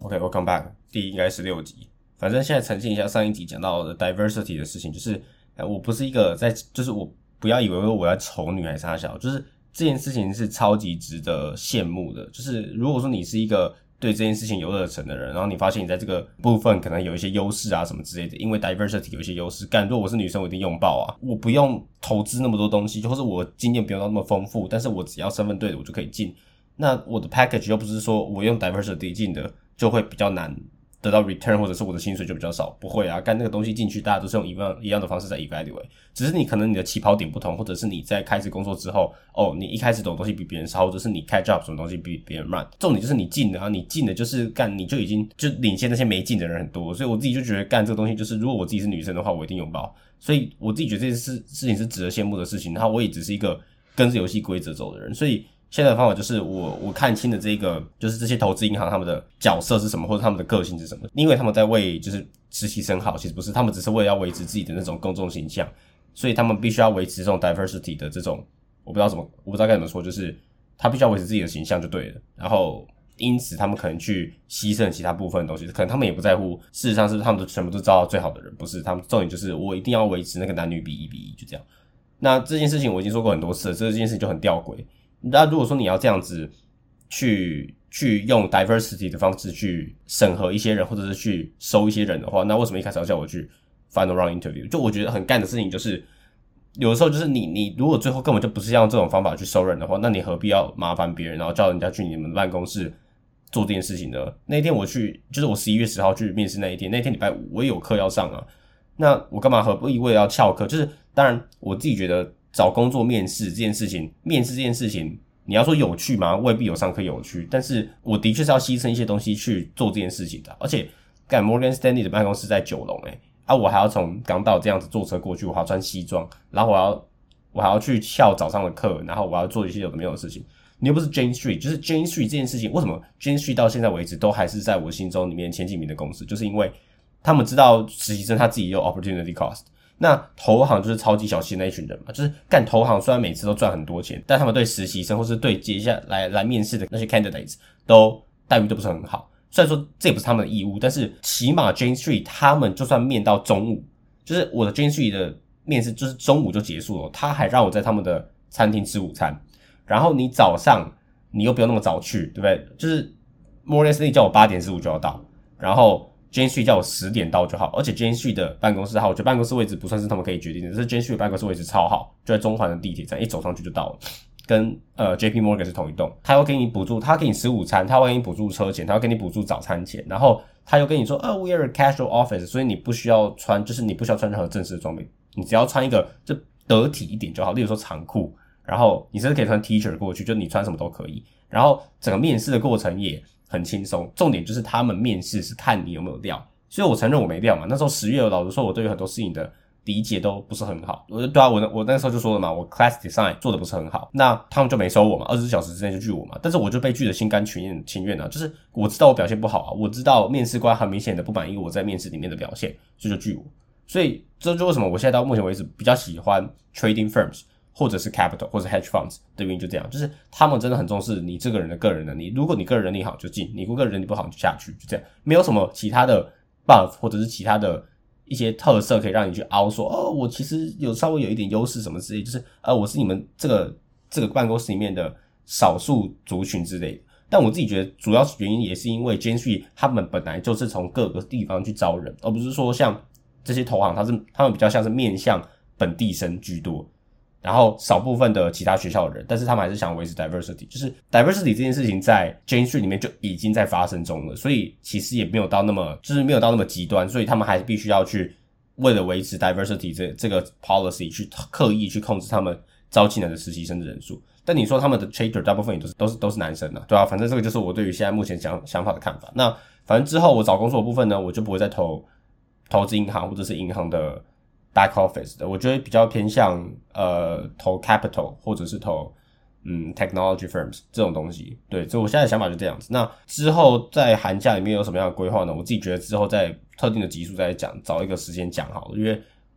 OK，welcome back， 第应该16集。反正现在澄清一下上一集讲到的 diversity 的事情，就是我不是一个就是我不要以为我要丑女还是啥小，就是这件事情是超级值得羡慕的。就是如果说你是一个对这件事情有热忱的人，然后你发现你在这个部分可能有一些优势啊什么之类的，因为 diversity 有一些优势，如果我是女生我一定拥抱啊，我不用投资那么多东西，或者我经验不用到那么丰富，但是我只要身份对的我就可以进。那我的 package 又不是说我用 diversity 进的就会比较难得到 return， 或者是我的薪水就比较少，不会啊，干那个东西进去大家都是用一样的方式在 evaluate， 只是你可能你的起跑点不同，或者是你在开始工作之后你一开始懂的东西比别人少，或者是你catch up 什么东西比别人慢，重点就是你进的啊，你进的就是干你就已经就领先那些没进的人很多，所以我自己就觉得干这个东西就是如果我自己是女生的话我一定拥抱，所以我自己觉得这件事情是值得羡慕的事情，然后我也只是一个跟着游戏规则走的人，所以现在的方法就是我看清的这个就是这些投资银行他们的角色是什么，或者他们的个性是什么，因为他们在为就是实习生好，其实不是，他们只是为了要维持自己的那种公众形象，所以他们必须要维持这种 diversity 的这种我不知道该怎么说，就是他必须要维持自己的形象就对了，然后因此他们可能去牺牲其他部分的东西，可能他们也不在乎事实上是他们都全部都招到最好的人，不是，他们重点就是我一定要维持那个男女比1:1，就这样。那这件事情我已经说过很多次了，这件事情就很吊诡。那如果说你要这样子去用 diversity 的方式去审核一些人，或者是去收一些人的话，那为什么一开始要叫我去 final round interview？ 就我觉得很干的事情就是，有的时候就是你如果最后根本就不是要用这种方法去收人的话，那你何必要麻烦别人，然后叫人家去你们办公室做这件事情呢？那一天我去，就是我11月10号去面试那一天礼拜5我也有课要上啊，那我干嘛何必为了要翘课？就是当然我自己觉得找工作面试这件事情，你要说有趣吗？未必有上课有趣，但是我的确是要牺牲一些东西去做这件事情的。而且Morgan Stanley 的办公室在9楼我还要从港岛这样子坐车过去，我还要穿西装，然后我还要去翘早上的课，然后我要做一些有的没有的事情。你又不是 Jane Street， 就是 Jane Street 这件事情，为什么 Jane Street 到现在为止都还是在我心中里面前几名的公司，就是因为他们知道实习生他自己有 opportunity cost。那投行就是超级小气的那一群人嘛，就是干投行虽然每次都赚很多钱，但他们对实习生或是对接下来面试的那些 candidates 待遇都不是很好。虽然说这也不是他们的义务，但是起码 Jane Street 他们就算面到中午，就是我的 Jane Street 的面试就是中午就结束了，他还让我在他们的餐厅吃午餐，然后你早上你又不用那么早去，对不对？就是 Morgan Stanley 叫我8点15就要到，然后Jane Street 叫我10点到就好，而且 Jane Street 的办公室我觉得办公室位置不算是他们可以决定的，是 Jane Street 的办公室位置超好，就在中环的地铁站，一走上去就到了，跟JP Morgan 是同一栋。他要给你补助，他给你吃午餐，他会给你补助车钱，他会给你补助早餐钱，然后他又跟你说we are a casual office， 所以你不需要穿任何正式的装备，你只要穿一个就得体一点就好，例如说长裤，然后你甚至可以穿 T-shirt 过去，就你穿什么都可以，然后整个面试的过程也很轻松，重点就是他们面试是看你有没有料，所以我承认我没料嘛。那时候10月老实说我对于很多事情的理解都不是很好，对啊，我那时候就说了嘛，我 class design 做的不是很好，那他们就没收我嘛，24小时之内就拒我嘛，但是我就被拒的心甘情愿啊，就是我知道我表现不好啊，我知道面试官很明显的不满意我在面试里面的表现，所以就拒我。所以这就为什么我现在到目前为止比较喜欢 trading firms或者是 capital 或者 hedge funds 的原因就这样，就是他们真的很重视你这个人的个人能力，如果你个人能力好就进，你如果个人能力不好就下去，就这样，没有什么其他的 buff 或者是其他的一些特色可以让你去凹说我其实稍微有一点优势什么之类，就是我是你们这个办公室里面的少数族群之类的。但我自己觉得主要原因也是因为 Jane Street 他们本来就是从各个地方去招人，而不是说像这些投行他们比较像是面向本地生居多，然后少部分的其他学校的人，但是他们还是想维持 diversity， 就是 diversity 这件事情在 Jane Street 里面就已经在发生中了，所以其实也没有到那么极端，所以他们还必须要去为了维持 diversity 这个 policy 去刻意去控制他们招进来的实习生的人数。但你说他们的 trader 大部分也都是男生啊，对啊，反正这个就是我对于现在目前想法的看法。那反正之后我找工作的部分呢，我就不会再投资银行或者是银行的back office 的，我觉得比较偏向投 capital 或者是投technology firms 这种东西。对，所以我现在的想法就这样子。那之后在寒假里面有什么样的规划呢？我自己觉得之后在特定的集数再讲，找一个时间讲好了，因为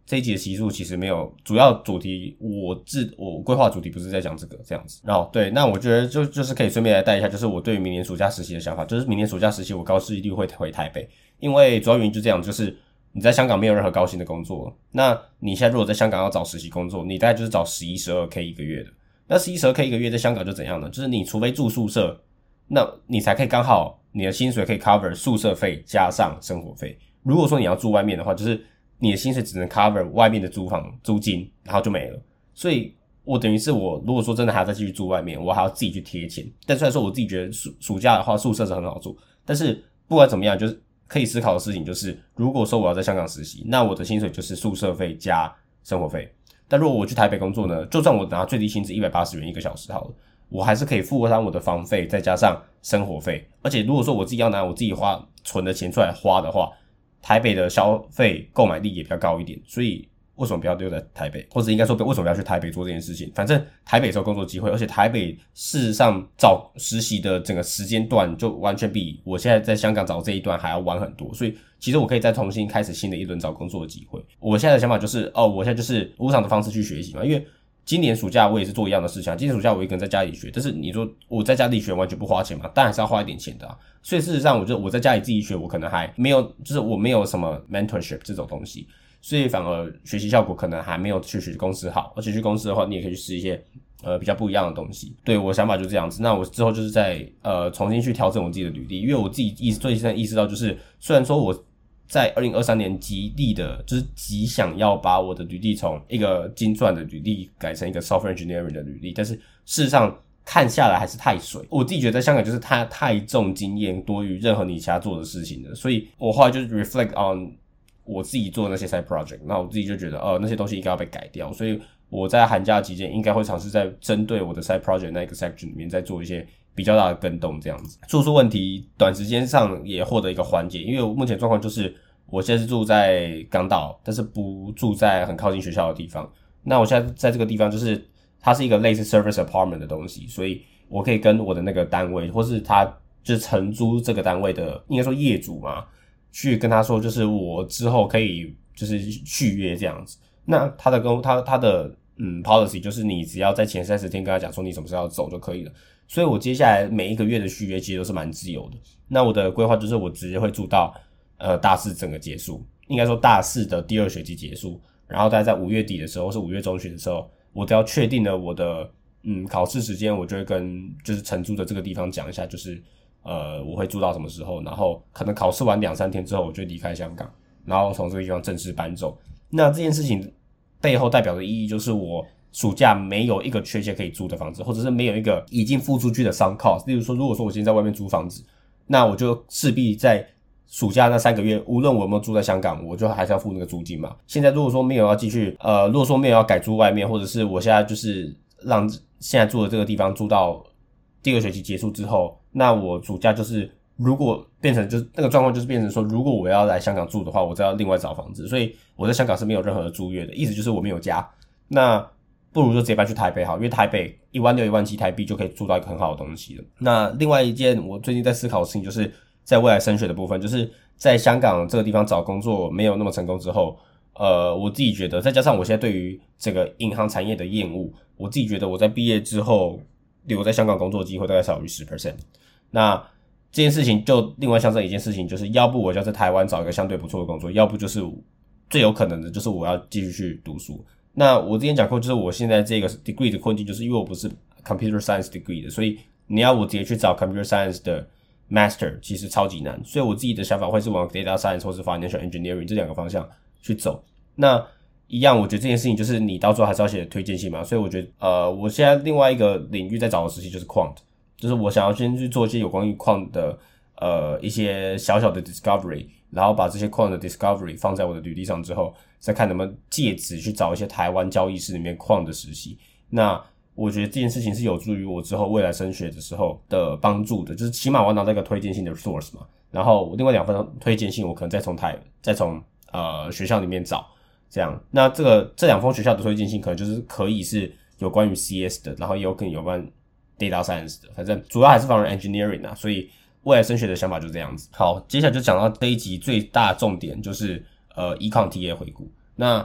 这一集的集数其实没有主要主题，我规划主题不是在讲这个这样子。然后对，那我觉得就是可以顺便来带一下，就是我对于明年暑假实习的想法，就是明年暑假实习我高一律会回台北，因为主要原因就这样，就是你在香港没有任何高薪的工作，那你现在如果在香港要找实习工作，你大概就是找11、12K 一个月的。那11、12K 一个月在香港就怎样呢？就是你除非住宿舍，那你才可以刚好你的薪水可以 cover 宿舍费加上生活费。如果说你要住外面的话，就是你的薪水只能 cover 外面的租房租金，然后就没了。所以我等于是我如果说真的还要再继续住外面，我还要自己去贴钱。但虽然说我自己觉得暑假的话宿舍是很好住，但是不管怎么样，就是可以思考的事情就是，如果说我要在香港实习，那我的薪水就是宿舍费加生活费。但如果我去台北工作呢，就算我拿最低薪资180元一个小时好了，我还是可以负担我的房费再加上生活费。而且如果说我自己要拿我自己存的钱出来花的话，台北的消费购买力也比较高一点，所以为什么不要留在台北，或者应该说为什么要去台北做这件事情？反正台北是有工作机会，而且台北事实上找实习的整个时间段就完全比我现在在香港找这一段还要晚很多，所以其实我可以再重新开始新的一轮找工作的机会。我现在的想法就是我现在就是无偿的方式去学习嘛，因为今年暑假我也是做一样的事情，今年暑假我一个人在家里学，但是你说我在家里学完全不花钱嘛？当然还是要花一点钱的啊。所以事实上我在家里自己学，我可能还没有，就是我没有什么 mentorship 这种东西，所以反而学习效果可能还没有去公司好。而且去公司的话，你也可以去试一些比较不一样的东西。对，我的想法就这样子。那我之后就是在重新去调整我自己的履历，因为我自己最近意识到，就是虽然说我在2023年极想要把我的履历从一个精算的履历改成一个 software engineering 的履历，但是事实上看下来还是太水。我自己觉得在香港就是它太重经验多于任何你其他做的事情了，所以我后来就是 reflect on 我自己做的那些 side project， 那我自己就觉得那些东西应该要被改掉，所以我在寒假期间应该会尝试在针对我的 side project 那个 section 里面再做一些比较大的更动，这样子住宿问题短时间上也获得一个缓解。因为我目前状况就是我现在是住在港岛，但是不住在很靠近学校的地方。那我现在在这个地方就是它是一个类似 service apartment 的东西，所以我可以跟我的那个单位或是他就是承租这个单位的应该说业主嘛，去跟他说就是我之后可以就是续约这样子。那他的policy 就是你只要在前30天跟他讲说你什么时候要走就可以了。所以我接下来每一个月的续约其实都是蛮自由的。那我的规划就是我直接会住到大四整个结束，应该说大四的第2学期结束，然后大概在5月底的时候或是5月中旬的时候，我只要确定了我的考试时间，我就会跟就是承租的这个地方讲一下，就是我会住到什么时候，然后可能考试完2-3天之后我就离开香港，然后从这个地方正式搬走。那这件事情背后代表的意义就是我暑假没有一个确切可以租的房子，或者是没有一个已经付出去的 sunk cost。例如说，如果说我今天在外面租房子，那我就势必在暑假那3个月，无论我有没有住在香港，我就还是要付那个租金嘛。现在如果说没有要继续如果说没有要改租外面，或者是我现在就是让现在住的这个地方住到第2学期结束之后，那我暑假就是如果变成就是那个状况就是变成说，如果我要来香港住的话，我再要另外找房子，所以我在香港是没有任何的租约的，意思就是我没有家。那不如就直接搬去台北好，因为台北16000、17000台币就可以住到一个很好的东西了。那另外一件我最近在思考的事情，就是在未来升学的部分，就是在香港这个地方找工作没有那么成功之后，我自己觉得再加上我现在对于这个银行产业的厌恶，我自己觉得我在毕业之后留在香港工作的机会大概少于 10%。 那这件事情就另外象征一件事情，就是要不我就在台湾找一个相对不错的工作，要不就是最有可能的就是我要继续去读书。那我之前讲过，就是我现在这个 degree 的困境，就是因为我不是 computer science degree 的，所以你要我直接去找 computer science 的 master 其实超级难，所以我自己的想法会是往 data science 或是 financial engineering 这2个方向去走。那一样，我觉得这件事情就是你到最后还是要写推荐信嘛，所以我觉得我现在另外一个领域在找的实习就是 quant， 就是我想要先去做一些有关于 quant 的一些小小的 discovery， 然后把这些 quant 的 discovery 放在我的履历上之后，再看能不能借此去找一些台湾交易室里面 quant 的实习。那我觉得这件事情是有助于我之后未来升学的时候的帮助的，就是起码我要拿到一个推荐信的 source 嘛，然后另外2份推荐信我可能再从学校里面找，这样。那这2封学校的推荐信可能就是可以是有关于 CS 的，然后也有可能有关 data science 的，反正主要还是放在 engineering 啊，所以未来升学的想法就这样子。好，接下来就讲到这一集最大重点，就是econ TA 回顾。那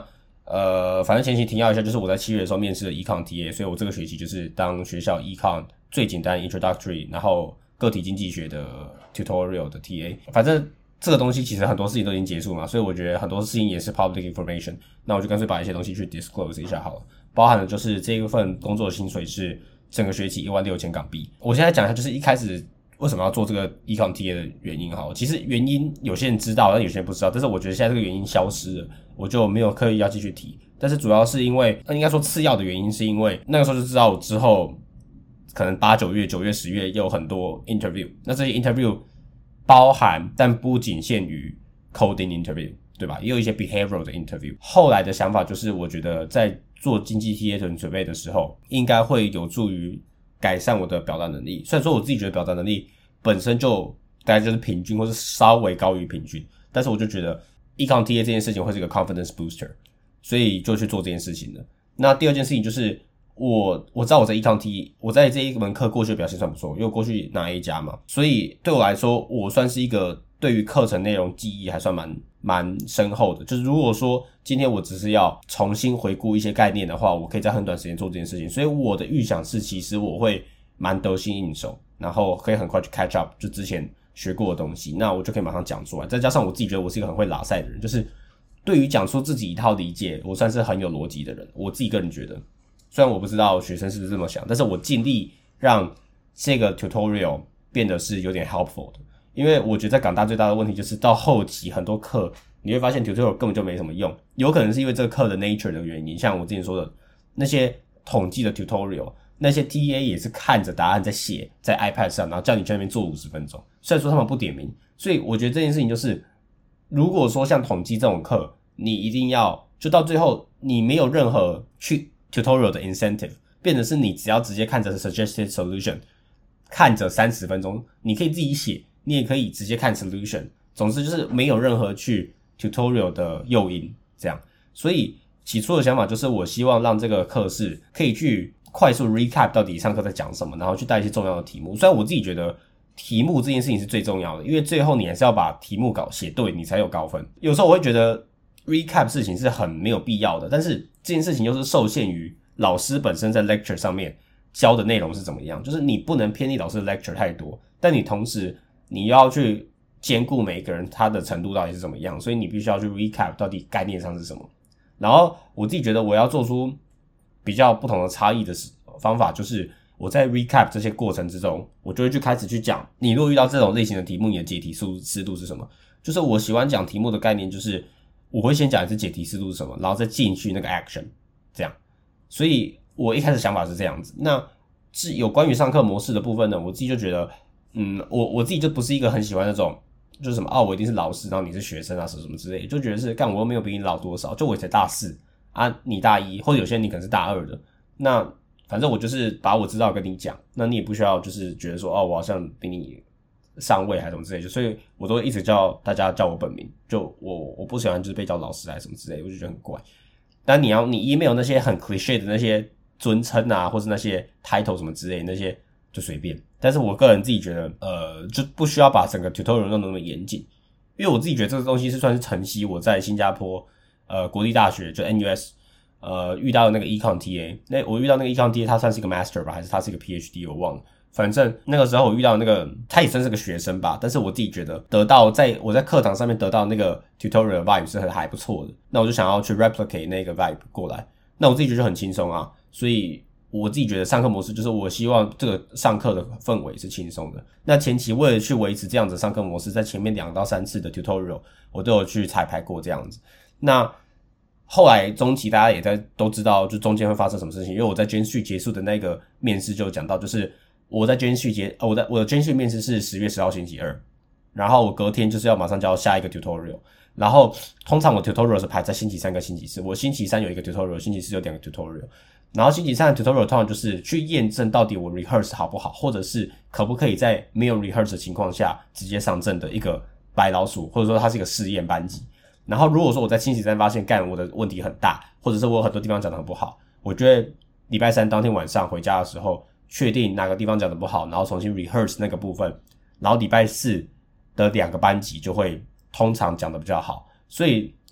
反正前期提要一下，就是我在7月的时候面试了 Econ TA， 所以我这个学期就是当学校 Econ 最简单 Introductory， 然后个体经济学的 Tutorial 的 TA。反正这个东西其实很多事情都已经结束嘛，所以我觉得很多事情也是 public information。那我就干脆把一些东西去 disclose 一下好了，包含的就是这一份工作的薪水是整个学期16000港币。我现在讲一下，就是一开始为什么要做这个 Econ TA 的原因好了。其实原因有些人知道，但有些人不知道。但是我觉得现在这个原因消失了，我就没有刻意要继续提。但是主要是因为，应该说次要的原因是因为那个时候就知道我之后可能8、9月、9月、10月也有很多 interview。那这些 interview 包含但不仅限于 coding interview， 对吧？也有一些 behavioral 的 interview。后来的想法就是，我觉得在做经济 TA 的准备的时候，应该会有助于改善我的表达能力。虽然说我自己觉得表达能力本身就大概就是平均或是稍微高于平均，但是我就觉得 Econ TA 这件事情会是一个 confidence booster， 所以就去做这件事情了。那第二件事情就是我知道我在 Econ TA， 我在这一门课过去的表现算不错，因为我过去拿 A 加嘛，所以对我来说，我算是一个对于课程内容记忆还算蛮深厚的。就是如果说今天我只是要重新回顾一些概念的话，我可以在很短时间做这件事情。所以我的预想是，其实我会蛮得心应手，然后可以很快去 catch up 就之前学过的东西，那我就可以马上讲出来。再加上我自己觉得我是一个很会拉塞的人，就是对于讲出自己一套理解，我算是很有逻辑的人。我自己个人觉得，虽然我不知道学生是不是这么想，但是我尽力让这个 tutorial 变得是有点 helpful 的。因为我觉得在港大最大的问题就是到后期很多课你会发现 tutorial 根本就没什么用，有可能是因为这个课的 nature 的原因，像我之前说的那些统计的 tutorial， 那些 TA 也是看着答案在写在 iPad 上，然后叫你去那边做50分钟，虽然说他们不点名。所以我觉得这件事情就是，如果说像统计这种课，你一定要就到最后你没有任何去 tutorial 的 incentive， 变成是你只要直接看着 suggested solution， 看着30分钟，你可以自己写，你也可以直接看 solution， 总之就是没有任何去 tutorial 的诱因这样。所以起初的想法就是我希望让这个课是可以去快速 recap 到底上课在讲什么，然后去带一些重要的题目。虽然我自己觉得题目这件事情是最重要的，因为最后你还是要把题目稿写对，你才有高分。有时候我会觉得 recap 事情是很没有必要的，但是这件事情又是受限于老师本身在 lecture 上面教的内容是怎么样，就是你不能偏离老师的 lecture 太多，但你同时你要去兼顾每一个人他的程度到底是怎么样，所以你必须要去 recap 到底概念上是什么。然后我自己觉得我要做出比较不同的差异的方法，就是我在 recap 这些过程之中，我就会去开始去讲，你如果遇到这种类型的题目，你的解题思路是什么。就是我喜欢讲题目的概念，就是我会先讲一次解题思路是什么，然后再进去那个 action 这样。所以我一开始想法是这样子。那是有关于上课模式的部分呢，我自己就觉得我自己就不是一个很喜欢那种就是什么我一定是老师，然后你是学生啊什么之类的，就觉得是干我又没有比你老多少，就我才大4啊，你大1，或者有些人你可能是大2的，那反正我就是把我知道跟你讲，那你也不需要就是觉得说我好像比你上位还是什么之类的，所以我都一直叫大家叫我本名，就我不喜欢就是被叫老师还是什么之类的，我就觉得很怪。但你 email 那些很 cliché 的那些尊称啊，或是那些 title 什么之类的，那些就随便。但是我个人自己觉得就不需要把整个 tutorial 弄得那么严谨，因为我自己觉得这个东西是算是承袭我在新加坡国立大学就 NUS 遇到的那个 Econ TA。 那我遇到那个 Econ TA 他算是一个 master 吧，还是他是一个 PhD 我忘了，反正那个时候我遇到那个他也算是个学生吧，但是我自己觉得我在课堂上面得到那个 tutorial vibe 是还不错的，那我就想要去 replicate 那个 vibe 过来，那我自己觉得很轻松啊。所以我自己觉得上课模式就是我希望这个上课的氛围是轻松的。那前期为了去维持这样子的上课模式，在前面2到3次的 tutorial 我都有去彩排过这样子。那后来中期大家也都知道就中间会发生什么事情，因为我在 Gen 结束的那个面试就讲到，就是我在 Gen 我的 Gen 面试是10月10号星期2，然后我隔天就是要马上交下一个 tutorial， 然后通常我 tutorial 是排在星期3跟星期4，我星期3有一个 tutorial， 星期4有2个 tutorial， 然后星期3的 tutorial 通常就是去验证到底我 rehearse 好不好，或者是可不可以在没有 rehearse 的情况下直接上阵的一个白老鼠，或者说它是一个试验班级。然后如果说我在星期3发现我的问题很大，或者是我有很多地方讲得很不好，我就会礼拜3当天晚上回家的时候确定哪个地方讲得不好，然后重新 rehearse 那个部分，然后礼拜4的2个班级就会通常讲得比较好。所以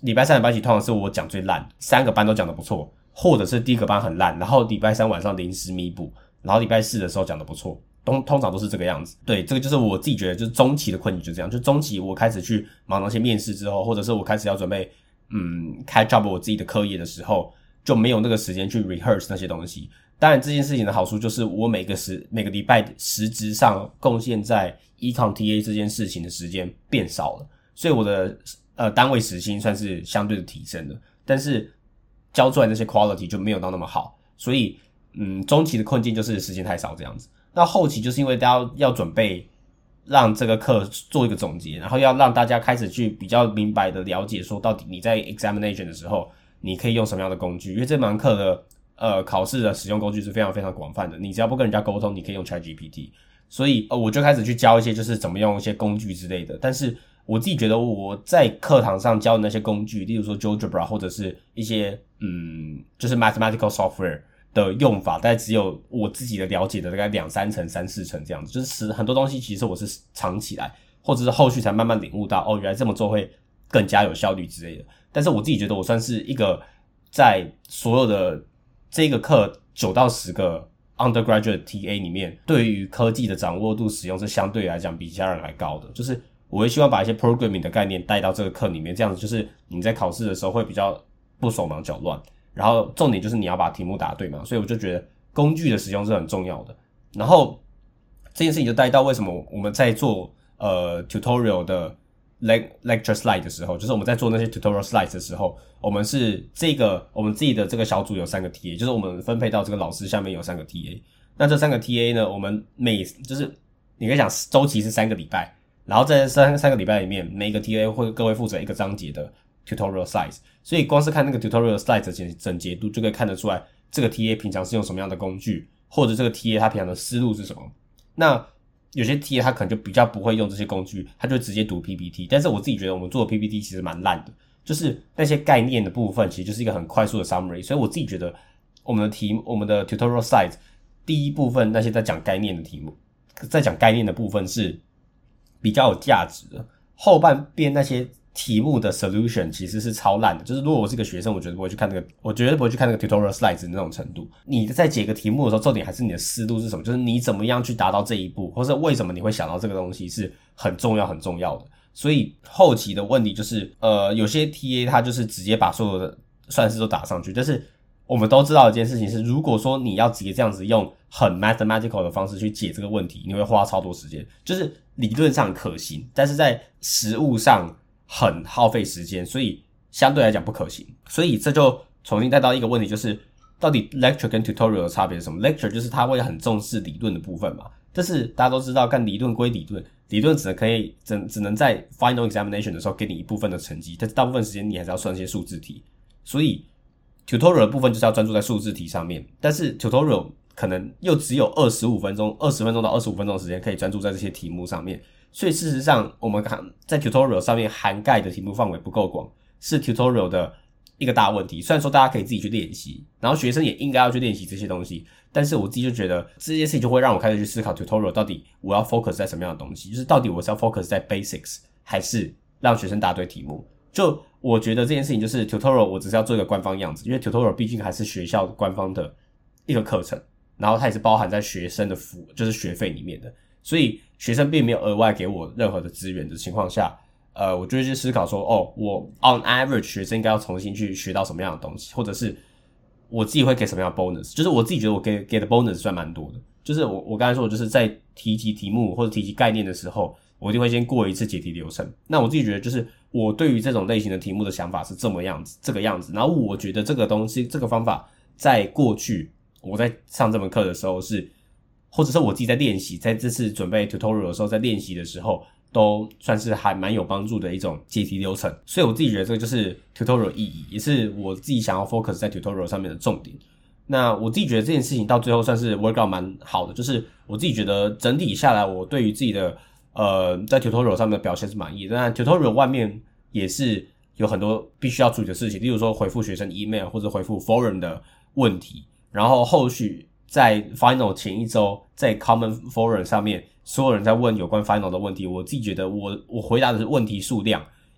礼拜三的班级通常是我讲最烂，3个班都讲得不错，或者是第一个班很烂，然后礼拜三晚上临时弥补，然后礼拜四的时候讲得不错，通常都是这个样子。对，这个就是我自己觉得就是中期的困境就这样，就中期我开始去忙那些面试之后，或者是我开始要准备开 job 我自己的课业的时候，就没有那个时间去 rehearse 那些东西。当然这件事情的好处就是我每个礼拜实质上贡献在 Econ TA 这件事情的时间变少了，所以我的单位时薪算是相对的提升了，但是交出来那些 quality 就没有到那么好，所以中期的困境就是时间太少这样子。那后期就是因为大家要准备让这个课做一个总结，然后要让大家开始去比较明白的了解说到底你在 examination 的时候你可以用什么样的工具，因为这门课的考试的使用工具是非常非常广泛的，你只要不跟人家沟通你可以用 ChatGPT， 所以我就开始去教一些就是怎么用一些工具之类的。但是我自己觉得我在课堂上教的那些工具，例如说 GeoGebra 或者是一些就是 mathematical software 的用法，大概只有我自己的了解的大概2-3成、3-4成这样子，就是很多东西其实我是藏起来，或者是后续才慢慢领悟到原来这么做会更加有效率之类的。但是我自己觉得我算是一个在所有的这个课9到10个 undergraduate TA 里面，对于科技的掌握度使用是相对来讲比其他人还高的，就是我会希望把一些 programming 的概念带到这个课里面，这样子就是你在考试的时候会比较不手忙脚乱，然后重点就是你要把题目答对嘛，所以我就觉得工具的使用是很重要的。然后这件事情就带到为什么我们在做tutorial 的 lecture slide 的时候，就是我们在做那些 tutorial slides 的时候，我们自己的这个小组有3个 TA， 就是我们分配到这个老师下面有3个 TA。那这3个 TA 呢，我们就是你可以讲周期是3个礼拜，然后在三个礼拜里面，每一个 TA 会各位负责一个章节的 tutorial slides， 所以光是看那个 tutorial slides 的整洁度就可以看得出来这个 TA 平常是用什么样的工具，或者这个 TA 他平常的思路是什么。那有些 TA 他可能就比较不会用这些工具，他就直接读 PPT， 但是我自己觉得我们做的 PPT 其实蛮烂的，就是那些概念的部分其实就是一个很快速的 summary， 所以我自己觉得我们的 tutorial slides 第一部分那些在讲概念的题目，在讲概念的部分是比较有价值的，后半边那些题目的 solution 其实是超烂的，就是如果我是个学生，我绝对不会去看那个 tutorial slides 的那种程度。你在解个题目的时候，重点还是你的思路是什么，就是你怎么样去达到这一步，或是为什么你会想到这个东西是很重要的。所以后期的问题就是有些 TA 他就是直接把所有的算式都打上去，但是我们都知道一件事情是，如果说你要直接这样子用很 mathematical 的方式去解这个问题，你会花超多时间，就是理论上可行，但是在实务上很耗费时间，所以相对来讲不可行。所以这就重新带到一个问题，就是到底 lecture 跟 tutorial 的差别是什么？ lecture 就是他会很重视理论的部分嘛，但是大家都知道干理论归理论，理论只能在 final examination 的时候给你一部分的成绩，但是大部分时间你还是要算一些数字题，所以 tutorial 的部分就是要专注在数字题上面，但是 tutorial 可能又只有20分钟到25分钟的时间可以专注在这些题目上面，所以事实上我们在 tutorial 上面涵盖的题目范围不够广，是 tutorial 的一个大问题。虽然说大家可以自己去练习，然后学生也应该要去练习这些东西，但是我自己就觉得这件事情就会让我开始去思考 tutorial 到底我要 focus 在什么样的东西，就是到底我是要 focus 在 basics 还是让学生答对题目。就我觉得这件事情就是 tutorial 我只是要做一个官方样子，因为 tutorial 毕竟还是学校官方的一个课程，然后它也是包含在学生的就是学费里面的，所以学生并没有额外给我任何的资源的情况下，我就会去思考说，我 on average 学生应该要重新去学到什么样的东西，或者是我自己会给什么样的 bonus， 就是我自己觉得我给的 bonus 算蛮多的，就是我刚才说的就是在提及题目或者提及概念的时候，我一定会先过一次解题流程。那我自己觉得就是我对于这种类型的题目的想法是这个样子，然后我觉得这个东西这个方法在过去我在上这门课的时候是，或者是我自己在练习，在这次准备 tutorial 的时候在练习的时候，都算是还蛮有帮助的一种解题流程。所以我自己觉得这个就是 tutorial 意义，也是我自己想要 focus 在 tutorial 上面的重点。那我自己觉得这件事情到最后算是 work out 蛮好的，就是我自己觉得整体下来我对于自己的在 tutorial 上面的表现是满意的。那 tutorial 外面也是有很多必须要处理的事情，例如说回复学生 email 或者回复 forum 的问题，然后后续在 final 前一周在 common forum 上面所有人在问有关 final 的问题，我自己觉得我回答的问题数量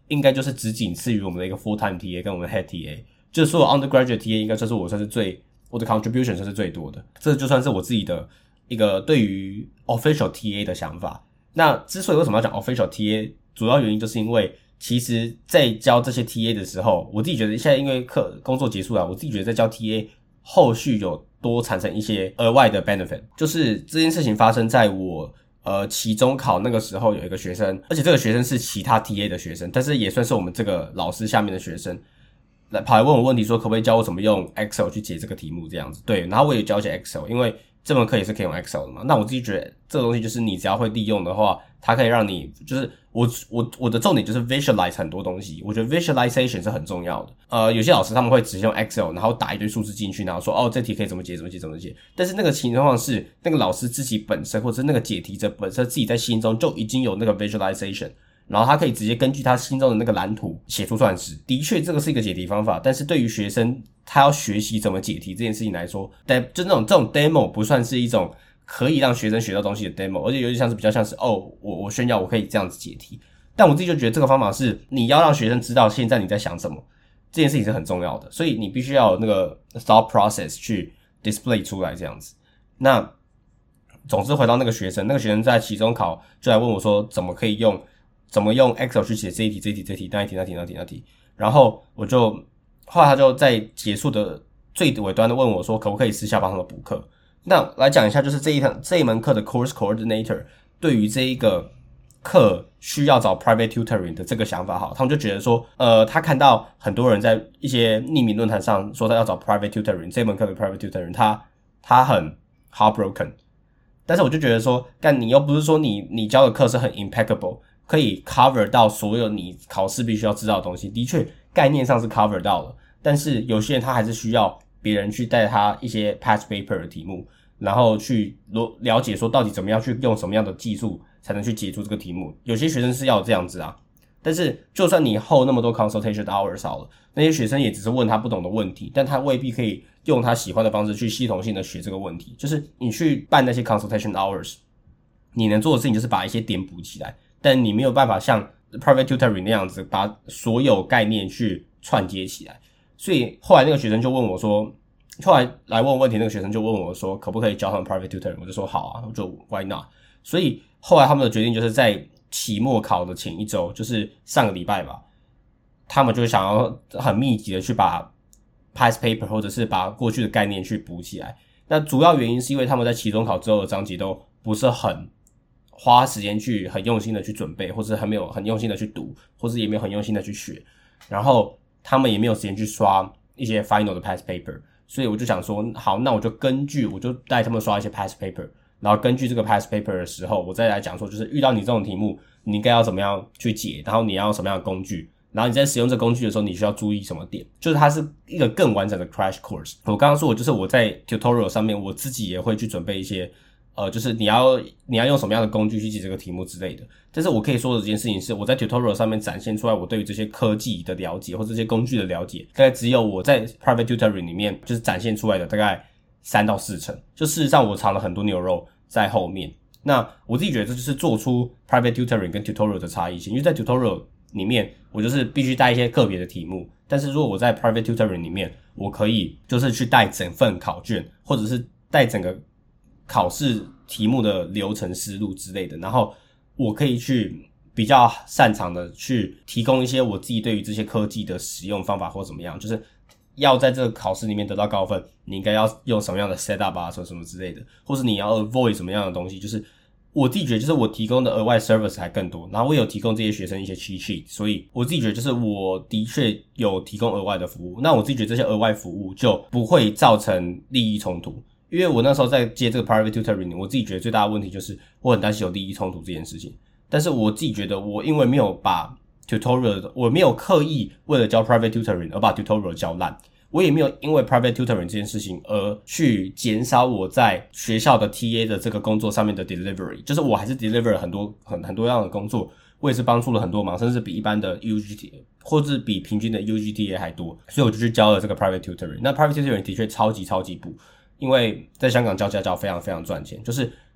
应该就是只仅次于我们的一个 full time TA 跟我们的 head TA， 就是所有 undergraduate TA 应该算是我的 contribution 算是最多的，这就算是我自己的一个对于 official TA 的想法。那之所以为什么要讲 official TA， 主要原因就是因为其实在教这些 TA 的时候，我自己觉得现在因为工作结束了，我自己觉得在教 TA 后续有多产生一些额外的 benefit， 就是这件事情发生在我期中考那个时候，有一个学生，而且这个学生是其他 TA 的学生，但是也算是我们这个老师下面的学生，跑来问我问题说可不可以教我怎么用 Excel 去解这个题目这样子。对，然后我也教一些 Excel， 因为这门课也是可以用 Excel 的嘛。那我自己觉得这个东西就是你只要会利用的话，它可以让你就是我的重点就是 visualize 很多东西，我觉得 visualization 是很重要的。有些老师他们会只用 Excel， 然后打一堆数字进去，然后说这题可以怎么解怎么解怎么解。但是那个情况是那个老师自己本身或者是那个解题者本身自己在心中就已经有那个 visualization。然后他可以直接根据他心中的那个蓝图写出算式。的确这个是一个解题方法，但是对于学生他要学习怎么解题这件事情来说，就这种 demo 不算是一种可以让学生学到东西的 demo， 而且有点像是比较像是我炫耀我可以这样子解题。但我自己就觉得这个方法是你要让学生知道现在你在想什么，这件事情是很重要的，所以你必须要有那个 thought process 去 display 出来这样子。那总之回到那个学生在期中考就来问我说怎么用 Excel 去写这一题那一题，然后后来他就在结束的最尾端的问我说可不可以私下帮他们补课。那来讲一下就是这一门课的 course coordinator 对于这一个课需要找 private tutoring 的这个想法，好，他们就觉得说他看到很多人在一些匿名论坛上说他要找 private tutoring， 这门课的 private tutoring 他很 heartbroken。但是我就觉得说干你又不是说你教的课是很 impeccable，可以 cover 到所有你考试必须要知道的东西，的确概念上是 cover 到了，但是有些人他还是需要别人去带他一些 past paper 的题目，然后去了解说到底怎么样去用什么样的技术才能去解出这个题目。有些学生是要这样子啊，但是就算你hold那么多 consultation hours 好了，那些学生也只是问他不懂的问题，但他未必可以用他喜欢的方式去系统性的学这个问题。就是你去办那些 consultation hours， 你能做的事情就是把一些点补起来，但你没有办法像 private tutoring 那样子把所有概念去串接起来。所以后来那个学生就问我说，后来来问我问题那个学生就问我说可不可以教他们 private tutoring， 我就说好啊，我就 why not。 所以后来他们的决定就是在期末考的前一周，就是上个礼拜吧，他们就想要很密集的去把 past paper 或者是把过去的概念去补起来。那主要原因是因为他们在期中考之后的章节都不是很花时间去很用心的去准备，或者还没有很用心的去读，或者也没有很用心的去学，然后他们也没有时间去刷一些 final 的 past paper。所以我就想说好，那我就带他们刷一些 past paper， 然后根据这个 past paper 的时候，我再来讲说就是遇到你这种题目你应该要怎么样去解，然后你要用什么样的工具，然后你在使用这工具的时候你需要注意什么点，就是它是一个更完整的 crash course。 我刚刚说就是我在 tutorial 上面我自己也会去准备一些就是你要用什么样的工具去解这个题目之类的。但是我可以说的这件事情是我在 tutorial 上面展现出来我对于这些科技的了解或者这些工具的了解，大概只有我在 private tutoring 里面就是展现出来的大概3到4成，就事实上我藏了很多牛肉在后面。那我自己觉得这就是做出 private tutoring 跟 tutorial 的差异性，因为在 tutorial 里面我就是必须带一些个别的题目，但是如果我在 private tutoring 里面我可以就是去带整份考卷，或者是带整个考试题目的流程思路之类的，然后我可以去比较擅长的去提供一些我自己对于这些科技的使用方法或怎么样，就是要在这个考试里面得到高分你应该要用什么样的 setup 啊什么之类的，或是你要 avoid 什么样的东西，就是我自己觉得就是我提供的额外 service 还更多，然后我有提供这些学生一些 cheat sheet， 所以我自己觉得就是我的确有提供额外的服务。那我自己觉得这些额外服务就不会造成利益冲突，因为我那时候在接这个 private tutoring， 我自己觉得最大的问题就是我很担心有利益冲突这件事情。但是我自己觉得我因为没有把 tutorial， 我没有刻意为了教 private tutoring 而把 tutorial 教烂，我也没有因为 private tutoring 这件事情而去减少我在学校的 TA 的这个工作上面的 delivery， 就是我还是 deliver 了很多样的工作，我也是帮助了很多忙，甚至比一般的 UGTA 或是比平均的 UGTA 还多，所以我就去教了这个 private tutoring。那 private tutoring 的确超级补，因为在香港教家教非常非常赚钱，就是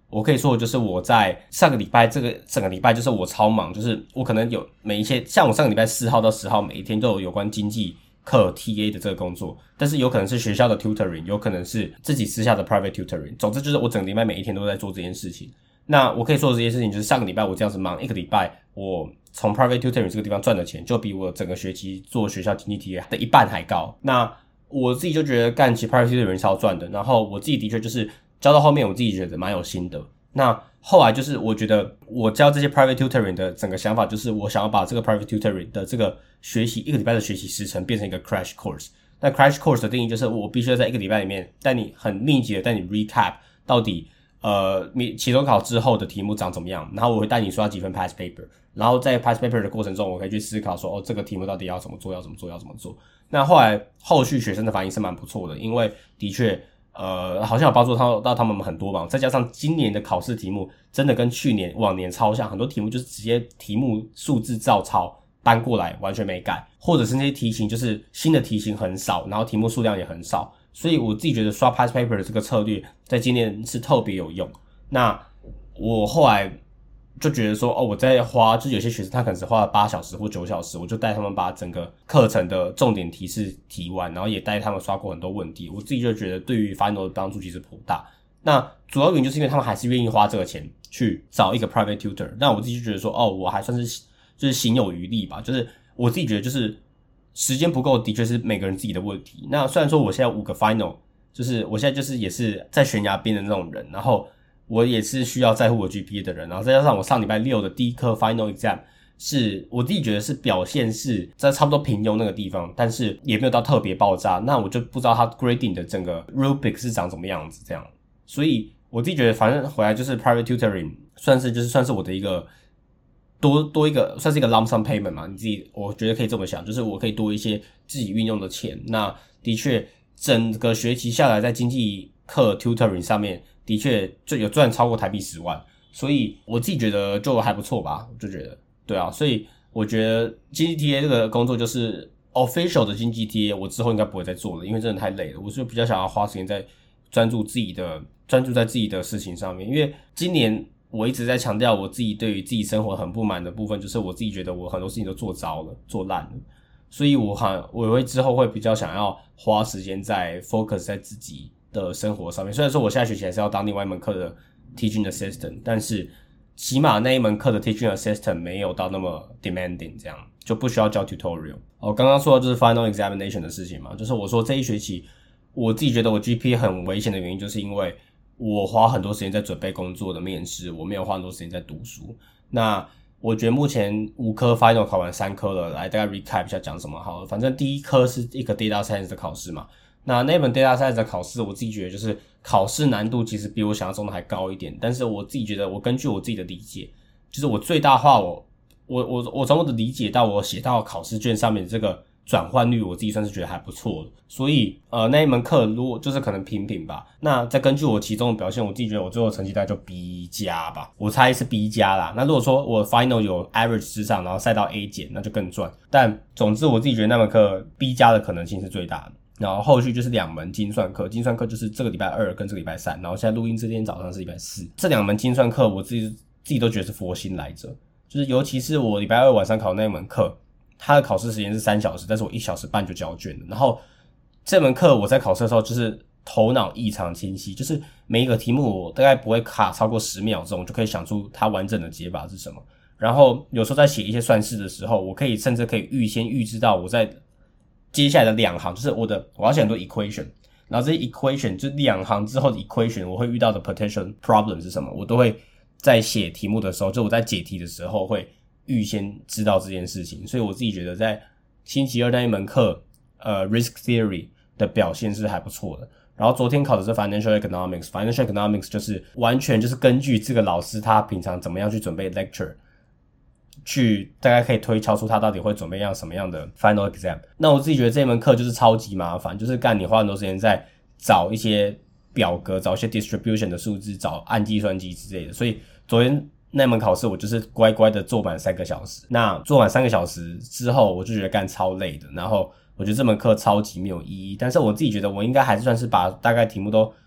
我可以说的就是我在上个礼拜这个整个礼拜就是我超忙，就是我可能有每一些像我上个礼拜4号到10号每一天都有关经济课 TA 的这个工作，但是有可能是学校的 tutoring， 有可能是自己私下的 private tutoring， 总之就是我整个礼拜每一天都在做这件事情。那我可以说的这件事情就是上个礼拜我这样子忙一个礼拜，我从 private tutoring 这个地方赚的钱就比我整个学期做学校经济 TA 的一半还高。那我自己就觉得干其实 private tutoring 超赚的，然后我自己的确就是教到后面我自己觉得蛮有心得。那后来就是我觉得我教这些 private tutoring 的整个想法就是我想要把这个 private tutoring 的这个学习一个礼拜的学习时程变成一个 crash course。那 crash course 的定义就是我必须要在一个礼拜里面带你很密集的带你 recap 到底期中考之后的题目长怎么样，然后我会带你刷几份 past paper， 然后在 past paper 的过程中我可以去思考说这个题目到底要怎么做。那后续学生的反应是蛮不错的，因为的确好像有帮助到他们很多吧，再加上今年的考试题目真的跟往年超像，很多题目就是直接题目数字照抄搬过来完全没改，或者是那些题型就是新的题型很少，然后题目数量也很少，所以我自己觉得刷 past paper 的这个策略在今年是特别有用。那我后来就觉得说我在花，就是有些学生他可能只花了8小时或9小时，我就带他们把整个课程的重点提示提完，然后也带他们刷过很多问题，我自己就觉得对于 final 的帮助其实颇大。那主要原因就是因为他们还是愿意花这个钱去找一个 private tutor， 那我自己就觉得说我还算是就是行有余力吧，就是我自己觉得就是时间不够的确是每个人自己的问题。那虽然说我现在5个 final， 就是我现在就是也是在悬崖边的那种人，然后我也是需要在乎我 GPA 的人，然后再加上我上礼拜6的第一科 final exam 是我自己觉得是表现是在差不多平庸那个地方，但是也没有到特别爆炸，那我就不知道它 grading 的整个 rubric 是长什么样子这样。所以我自己觉得反正回来就是 private tutoring 算是我的一个多一个算是一个 lump sum payment 嘛，你自己我觉得可以这么想，就是我可以多一些自己运用的钱。那的确整个学期下来在经济课 tutoring 上面的确就有赚超过台币10万，所以我自己觉得就还不错吧，我就觉得对啊，所以我觉得经济 TA 这个工作就是 official 的经济 TA 我之后应该不会再做了，因为真的太累了，我是比较想要花时间在专注在自己的事情上面。因为今年我一直在强调我自己对于自己生活很不满的部分，就是我自己觉得我很多事情都做糟了做烂了，所以我会之后会比较想要花时间在 focus 在自己的生活上面。虽然说我下学期还是要当另外一门课的 teaching assistant， 但是起码那一门课的 teaching assistant 没有到那么 demanding， 这样就不需要教 tutorial。刚刚说的就是 final examination 的事情嘛，就是我说这一学期我自己觉得我 GPA 很危险的原因，就是因为我花很多时间在准备工作的面试，我没有花很多时间在读书。那我觉得目前5科 final 考完3科了，来大概 recap 一下讲什么好了。反正第一科是一个 data science 的考试嘛，那本 data science 的考试我自己觉得就是考试难度其实比我想象中的还高一点，但是我自己觉得我根据我自己的理解，就是我最大化我从我的理解到我写到考试卷上面的这个转换率，我自己算是觉得还不错的。所以那一门课如果就是可能平吧，那再根据我其中的表现，我自己觉得我最后成绩大概就 B 加吧，我猜是 B 加啦。那如果说我 final 有 average 之上，然后赛到 A 减，那就更赚。但总之我自己觉得那门课 B 加的可能性是最大的。然后后续就是2门精算课，精算课就是这个礼拜2跟这个礼拜3，然后现在录音这天早上是礼拜4。这2门精算课我自己都觉得是佛心来着，就是尤其是我礼拜2晚上考那一门课，它的考试时间是3小时，但是我1小时半就交卷了。然后这门课我在考试的时候就是头脑异常清晰，就是每一个题目我大概不会卡超过10秒钟，就可以想出它完整的解法是什么。然后有时候在写一些算式的时候，我甚至可以预知到我在接下来的2行，就是我要写很多 equation， 然后这些 equation 就2行之后的 equation 我会遇到的 potential problem 是什么，我都会在写题目的时候，就我在解题的时候会预先知道这件事情。所以我自己觉得在星期2那一门课risk theory 的表现是还不错的。然后昨天考的是 financial economics 就是完全就是根据这个老师他平常怎么样去准备 lecture， 去大概可以推敲出他到底会准备什么样的 final exam。 那我自己觉得这门课就是超级麻烦，就是你花很多时间在找一些表格，找一些 distribution 的数字，找按计算机之类的。所以昨天那门考试我就是乖乖的做满3个小时。那做满3个小时之后，我就觉得超累的，然后我觉得这门课超级没有意义。但是我自己觉得我应该还是算是把大概题目都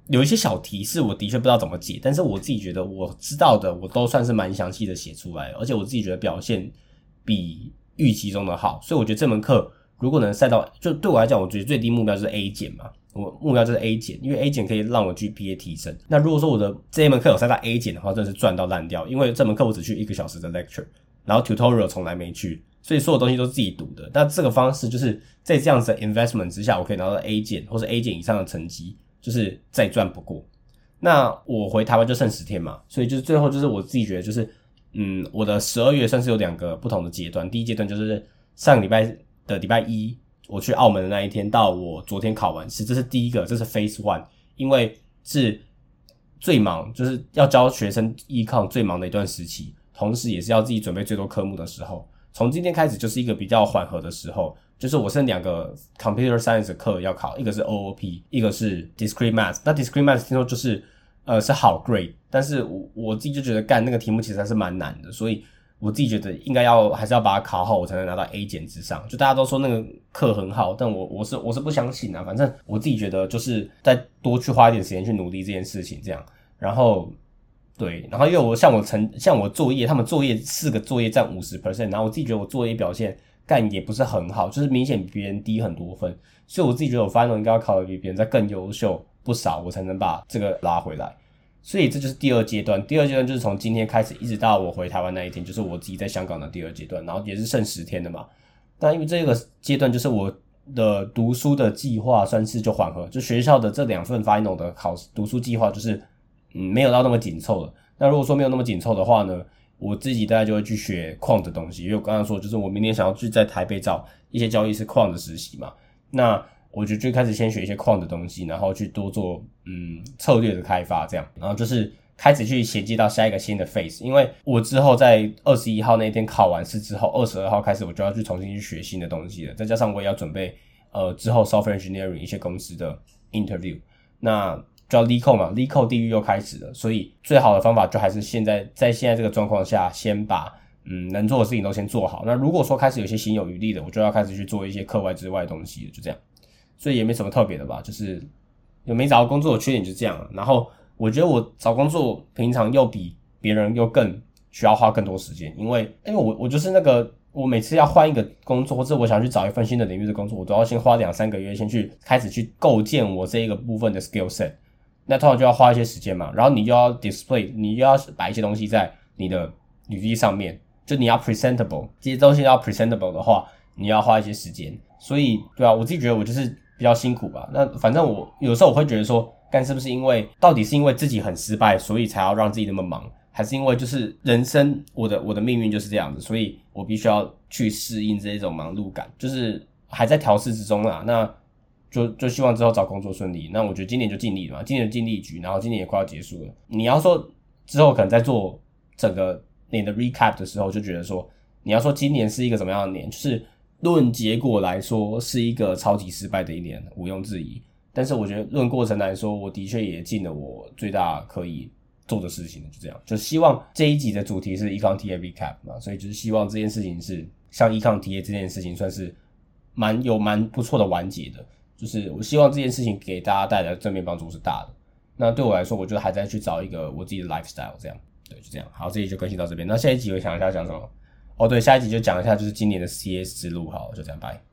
有一些小题是我的确不知道怎么解，但是我自己觉得我知道的我都算是蛮详细的写出来，而且我自己觉得表现比预期中的好，所以我觉得这门课如果能赛到，就对我来讲，我觉得最低目标就是 A 减嘛，我目标就是 A 减，因为 A 减可以让我 GPA 提升。那如果说我的这一门课有赛到 A 减的话，真的是赚到烂掉，因为这门课我只去1个小时的 lecture， 然后 tutorial 从来没去，所以所有东西都是自己读的。那这个方式就是在这样子的 investment 之下，我可以拿到 A 减或是 A 减以上的成绩，就是再赚不过。那我回台湾就剩10天嘛，所以就是最后就是我自己觉得就是我的12月算是有2个不同的阶段。第一阶段就是上个礼拜的礼拜一我去澳门的那一天到我昨天考完试，这是第一个，这是 phase 1， 因为是最忙，就是要教学生 econ 最忙的一段时期，同时也是要自己准备最多科目的时候。从今天开始就是一个比较缓和的时候，就是我剩2个 computer science 的课要考，一个是 OOP， 一个是 discrete math。 那 discrete math 听说就是是好 grade， 但是我自己就觉得干那个题目其实还是蛮难的，所以我自己觉得应该还是要把它考好，我才能拿到 A 减之上。就大家都说那个课很好，但我是不相信啊。反正我自己觉得就是再多去花一点时间去努力这件事情，这样。然后对，然后因为像我作业，他们作业4个作业占 50%， 然后我自己觉得我作业表现干也不是很好，就是明显比别人低很多分，所以我自己觉得我 final 应该要考得比别人再更优秀不少，我才能把这个拉回来。所以这就是第2阶段。第2阶段就是从今天开始一直到我回台湾那一天，就是我自己在香港的第2阶段，然后也是剩10天的嘛。那因为这个阶段就是我的读书的计划算是就缓和，就学校的这2份 final 的读书计划就是没有到那么紧凑了。那如果说没有那么紧凑的话呢，我自己大概就会去学quant的东西，因为我刚刚说就是我明年想要去在台北找一些交易是quant的实习嘛。那我就开始先学一些quant的东西，然后去多做策略的开发这样，然后就是开始去衔接到下一个新的 phase。 因为我之后在21号那天考完试之后，22号开始我就要去重新去学新的东西了，再加上我也要准备之后 software engineering 一些公司的 interview， 那就要 LeetCode 嘛，LeetCode 地狱又开始了，所以最好的方法就还是在现在这个状况下，先把能做的事情都先做好。那如果说开始有些心有余力的，我就要开始去做一些课外之外的东西了，就这样。所以也没什么特别的吧，就是有没找到工作的缺点就这样了。然后我觉得我找工作平常又比别人又更需要花更多时间，因为我就是那个我每次要换一个工作，或者我想去找一份新的领域的工作，我都要先花2-3个月先去开始去构建我这一个部分的 skill set。那通常就要花一些时间嘛，然后你就要 display， 你就要摆一些东西在你的履历上面，就你要 presentable， 这些东西要 presentable 的话，你要花一些时间。所以对啊，我自己觉得我就是比较辛苦吧。那反正我有时候我会觉得说，干是不是到底是因为自己很失败，所以才要让自己那么忙，还是因为就是人生我的命运就是这样子，所以我必须要去适应这种忙碌感，就是还在调试之中啦。那就希望之后找工作顺利。那我觉得今年就尽力了嘛，今年就尽力一局，然后今年也快要结束了。你要说之后可能在做整个你的 recap 的时候，就觉得说你要说今年是一个怎么样的年，就是论结果来说是一个超级失败的一年，毋庸置疑。但是我觉得论过程来说，我的确也尽了我最大可以做的事情，就这样。就希望这一集的主题是 Econ TA recap 嘛，所以就是希望这件事情是像 Econ TA 这件事情算是蛮不错的完结的。就是我希望这件事情给大家带来的正面帮助是大的。那对我来说，我就还在去找一个我自己的 lifestyle 这样。对，就这样。好，这一集就更新到这边。那下一集我想一下讲什么？哦，对，下一集就讲一下就是今年的 CS 之路。好，就这样，拜。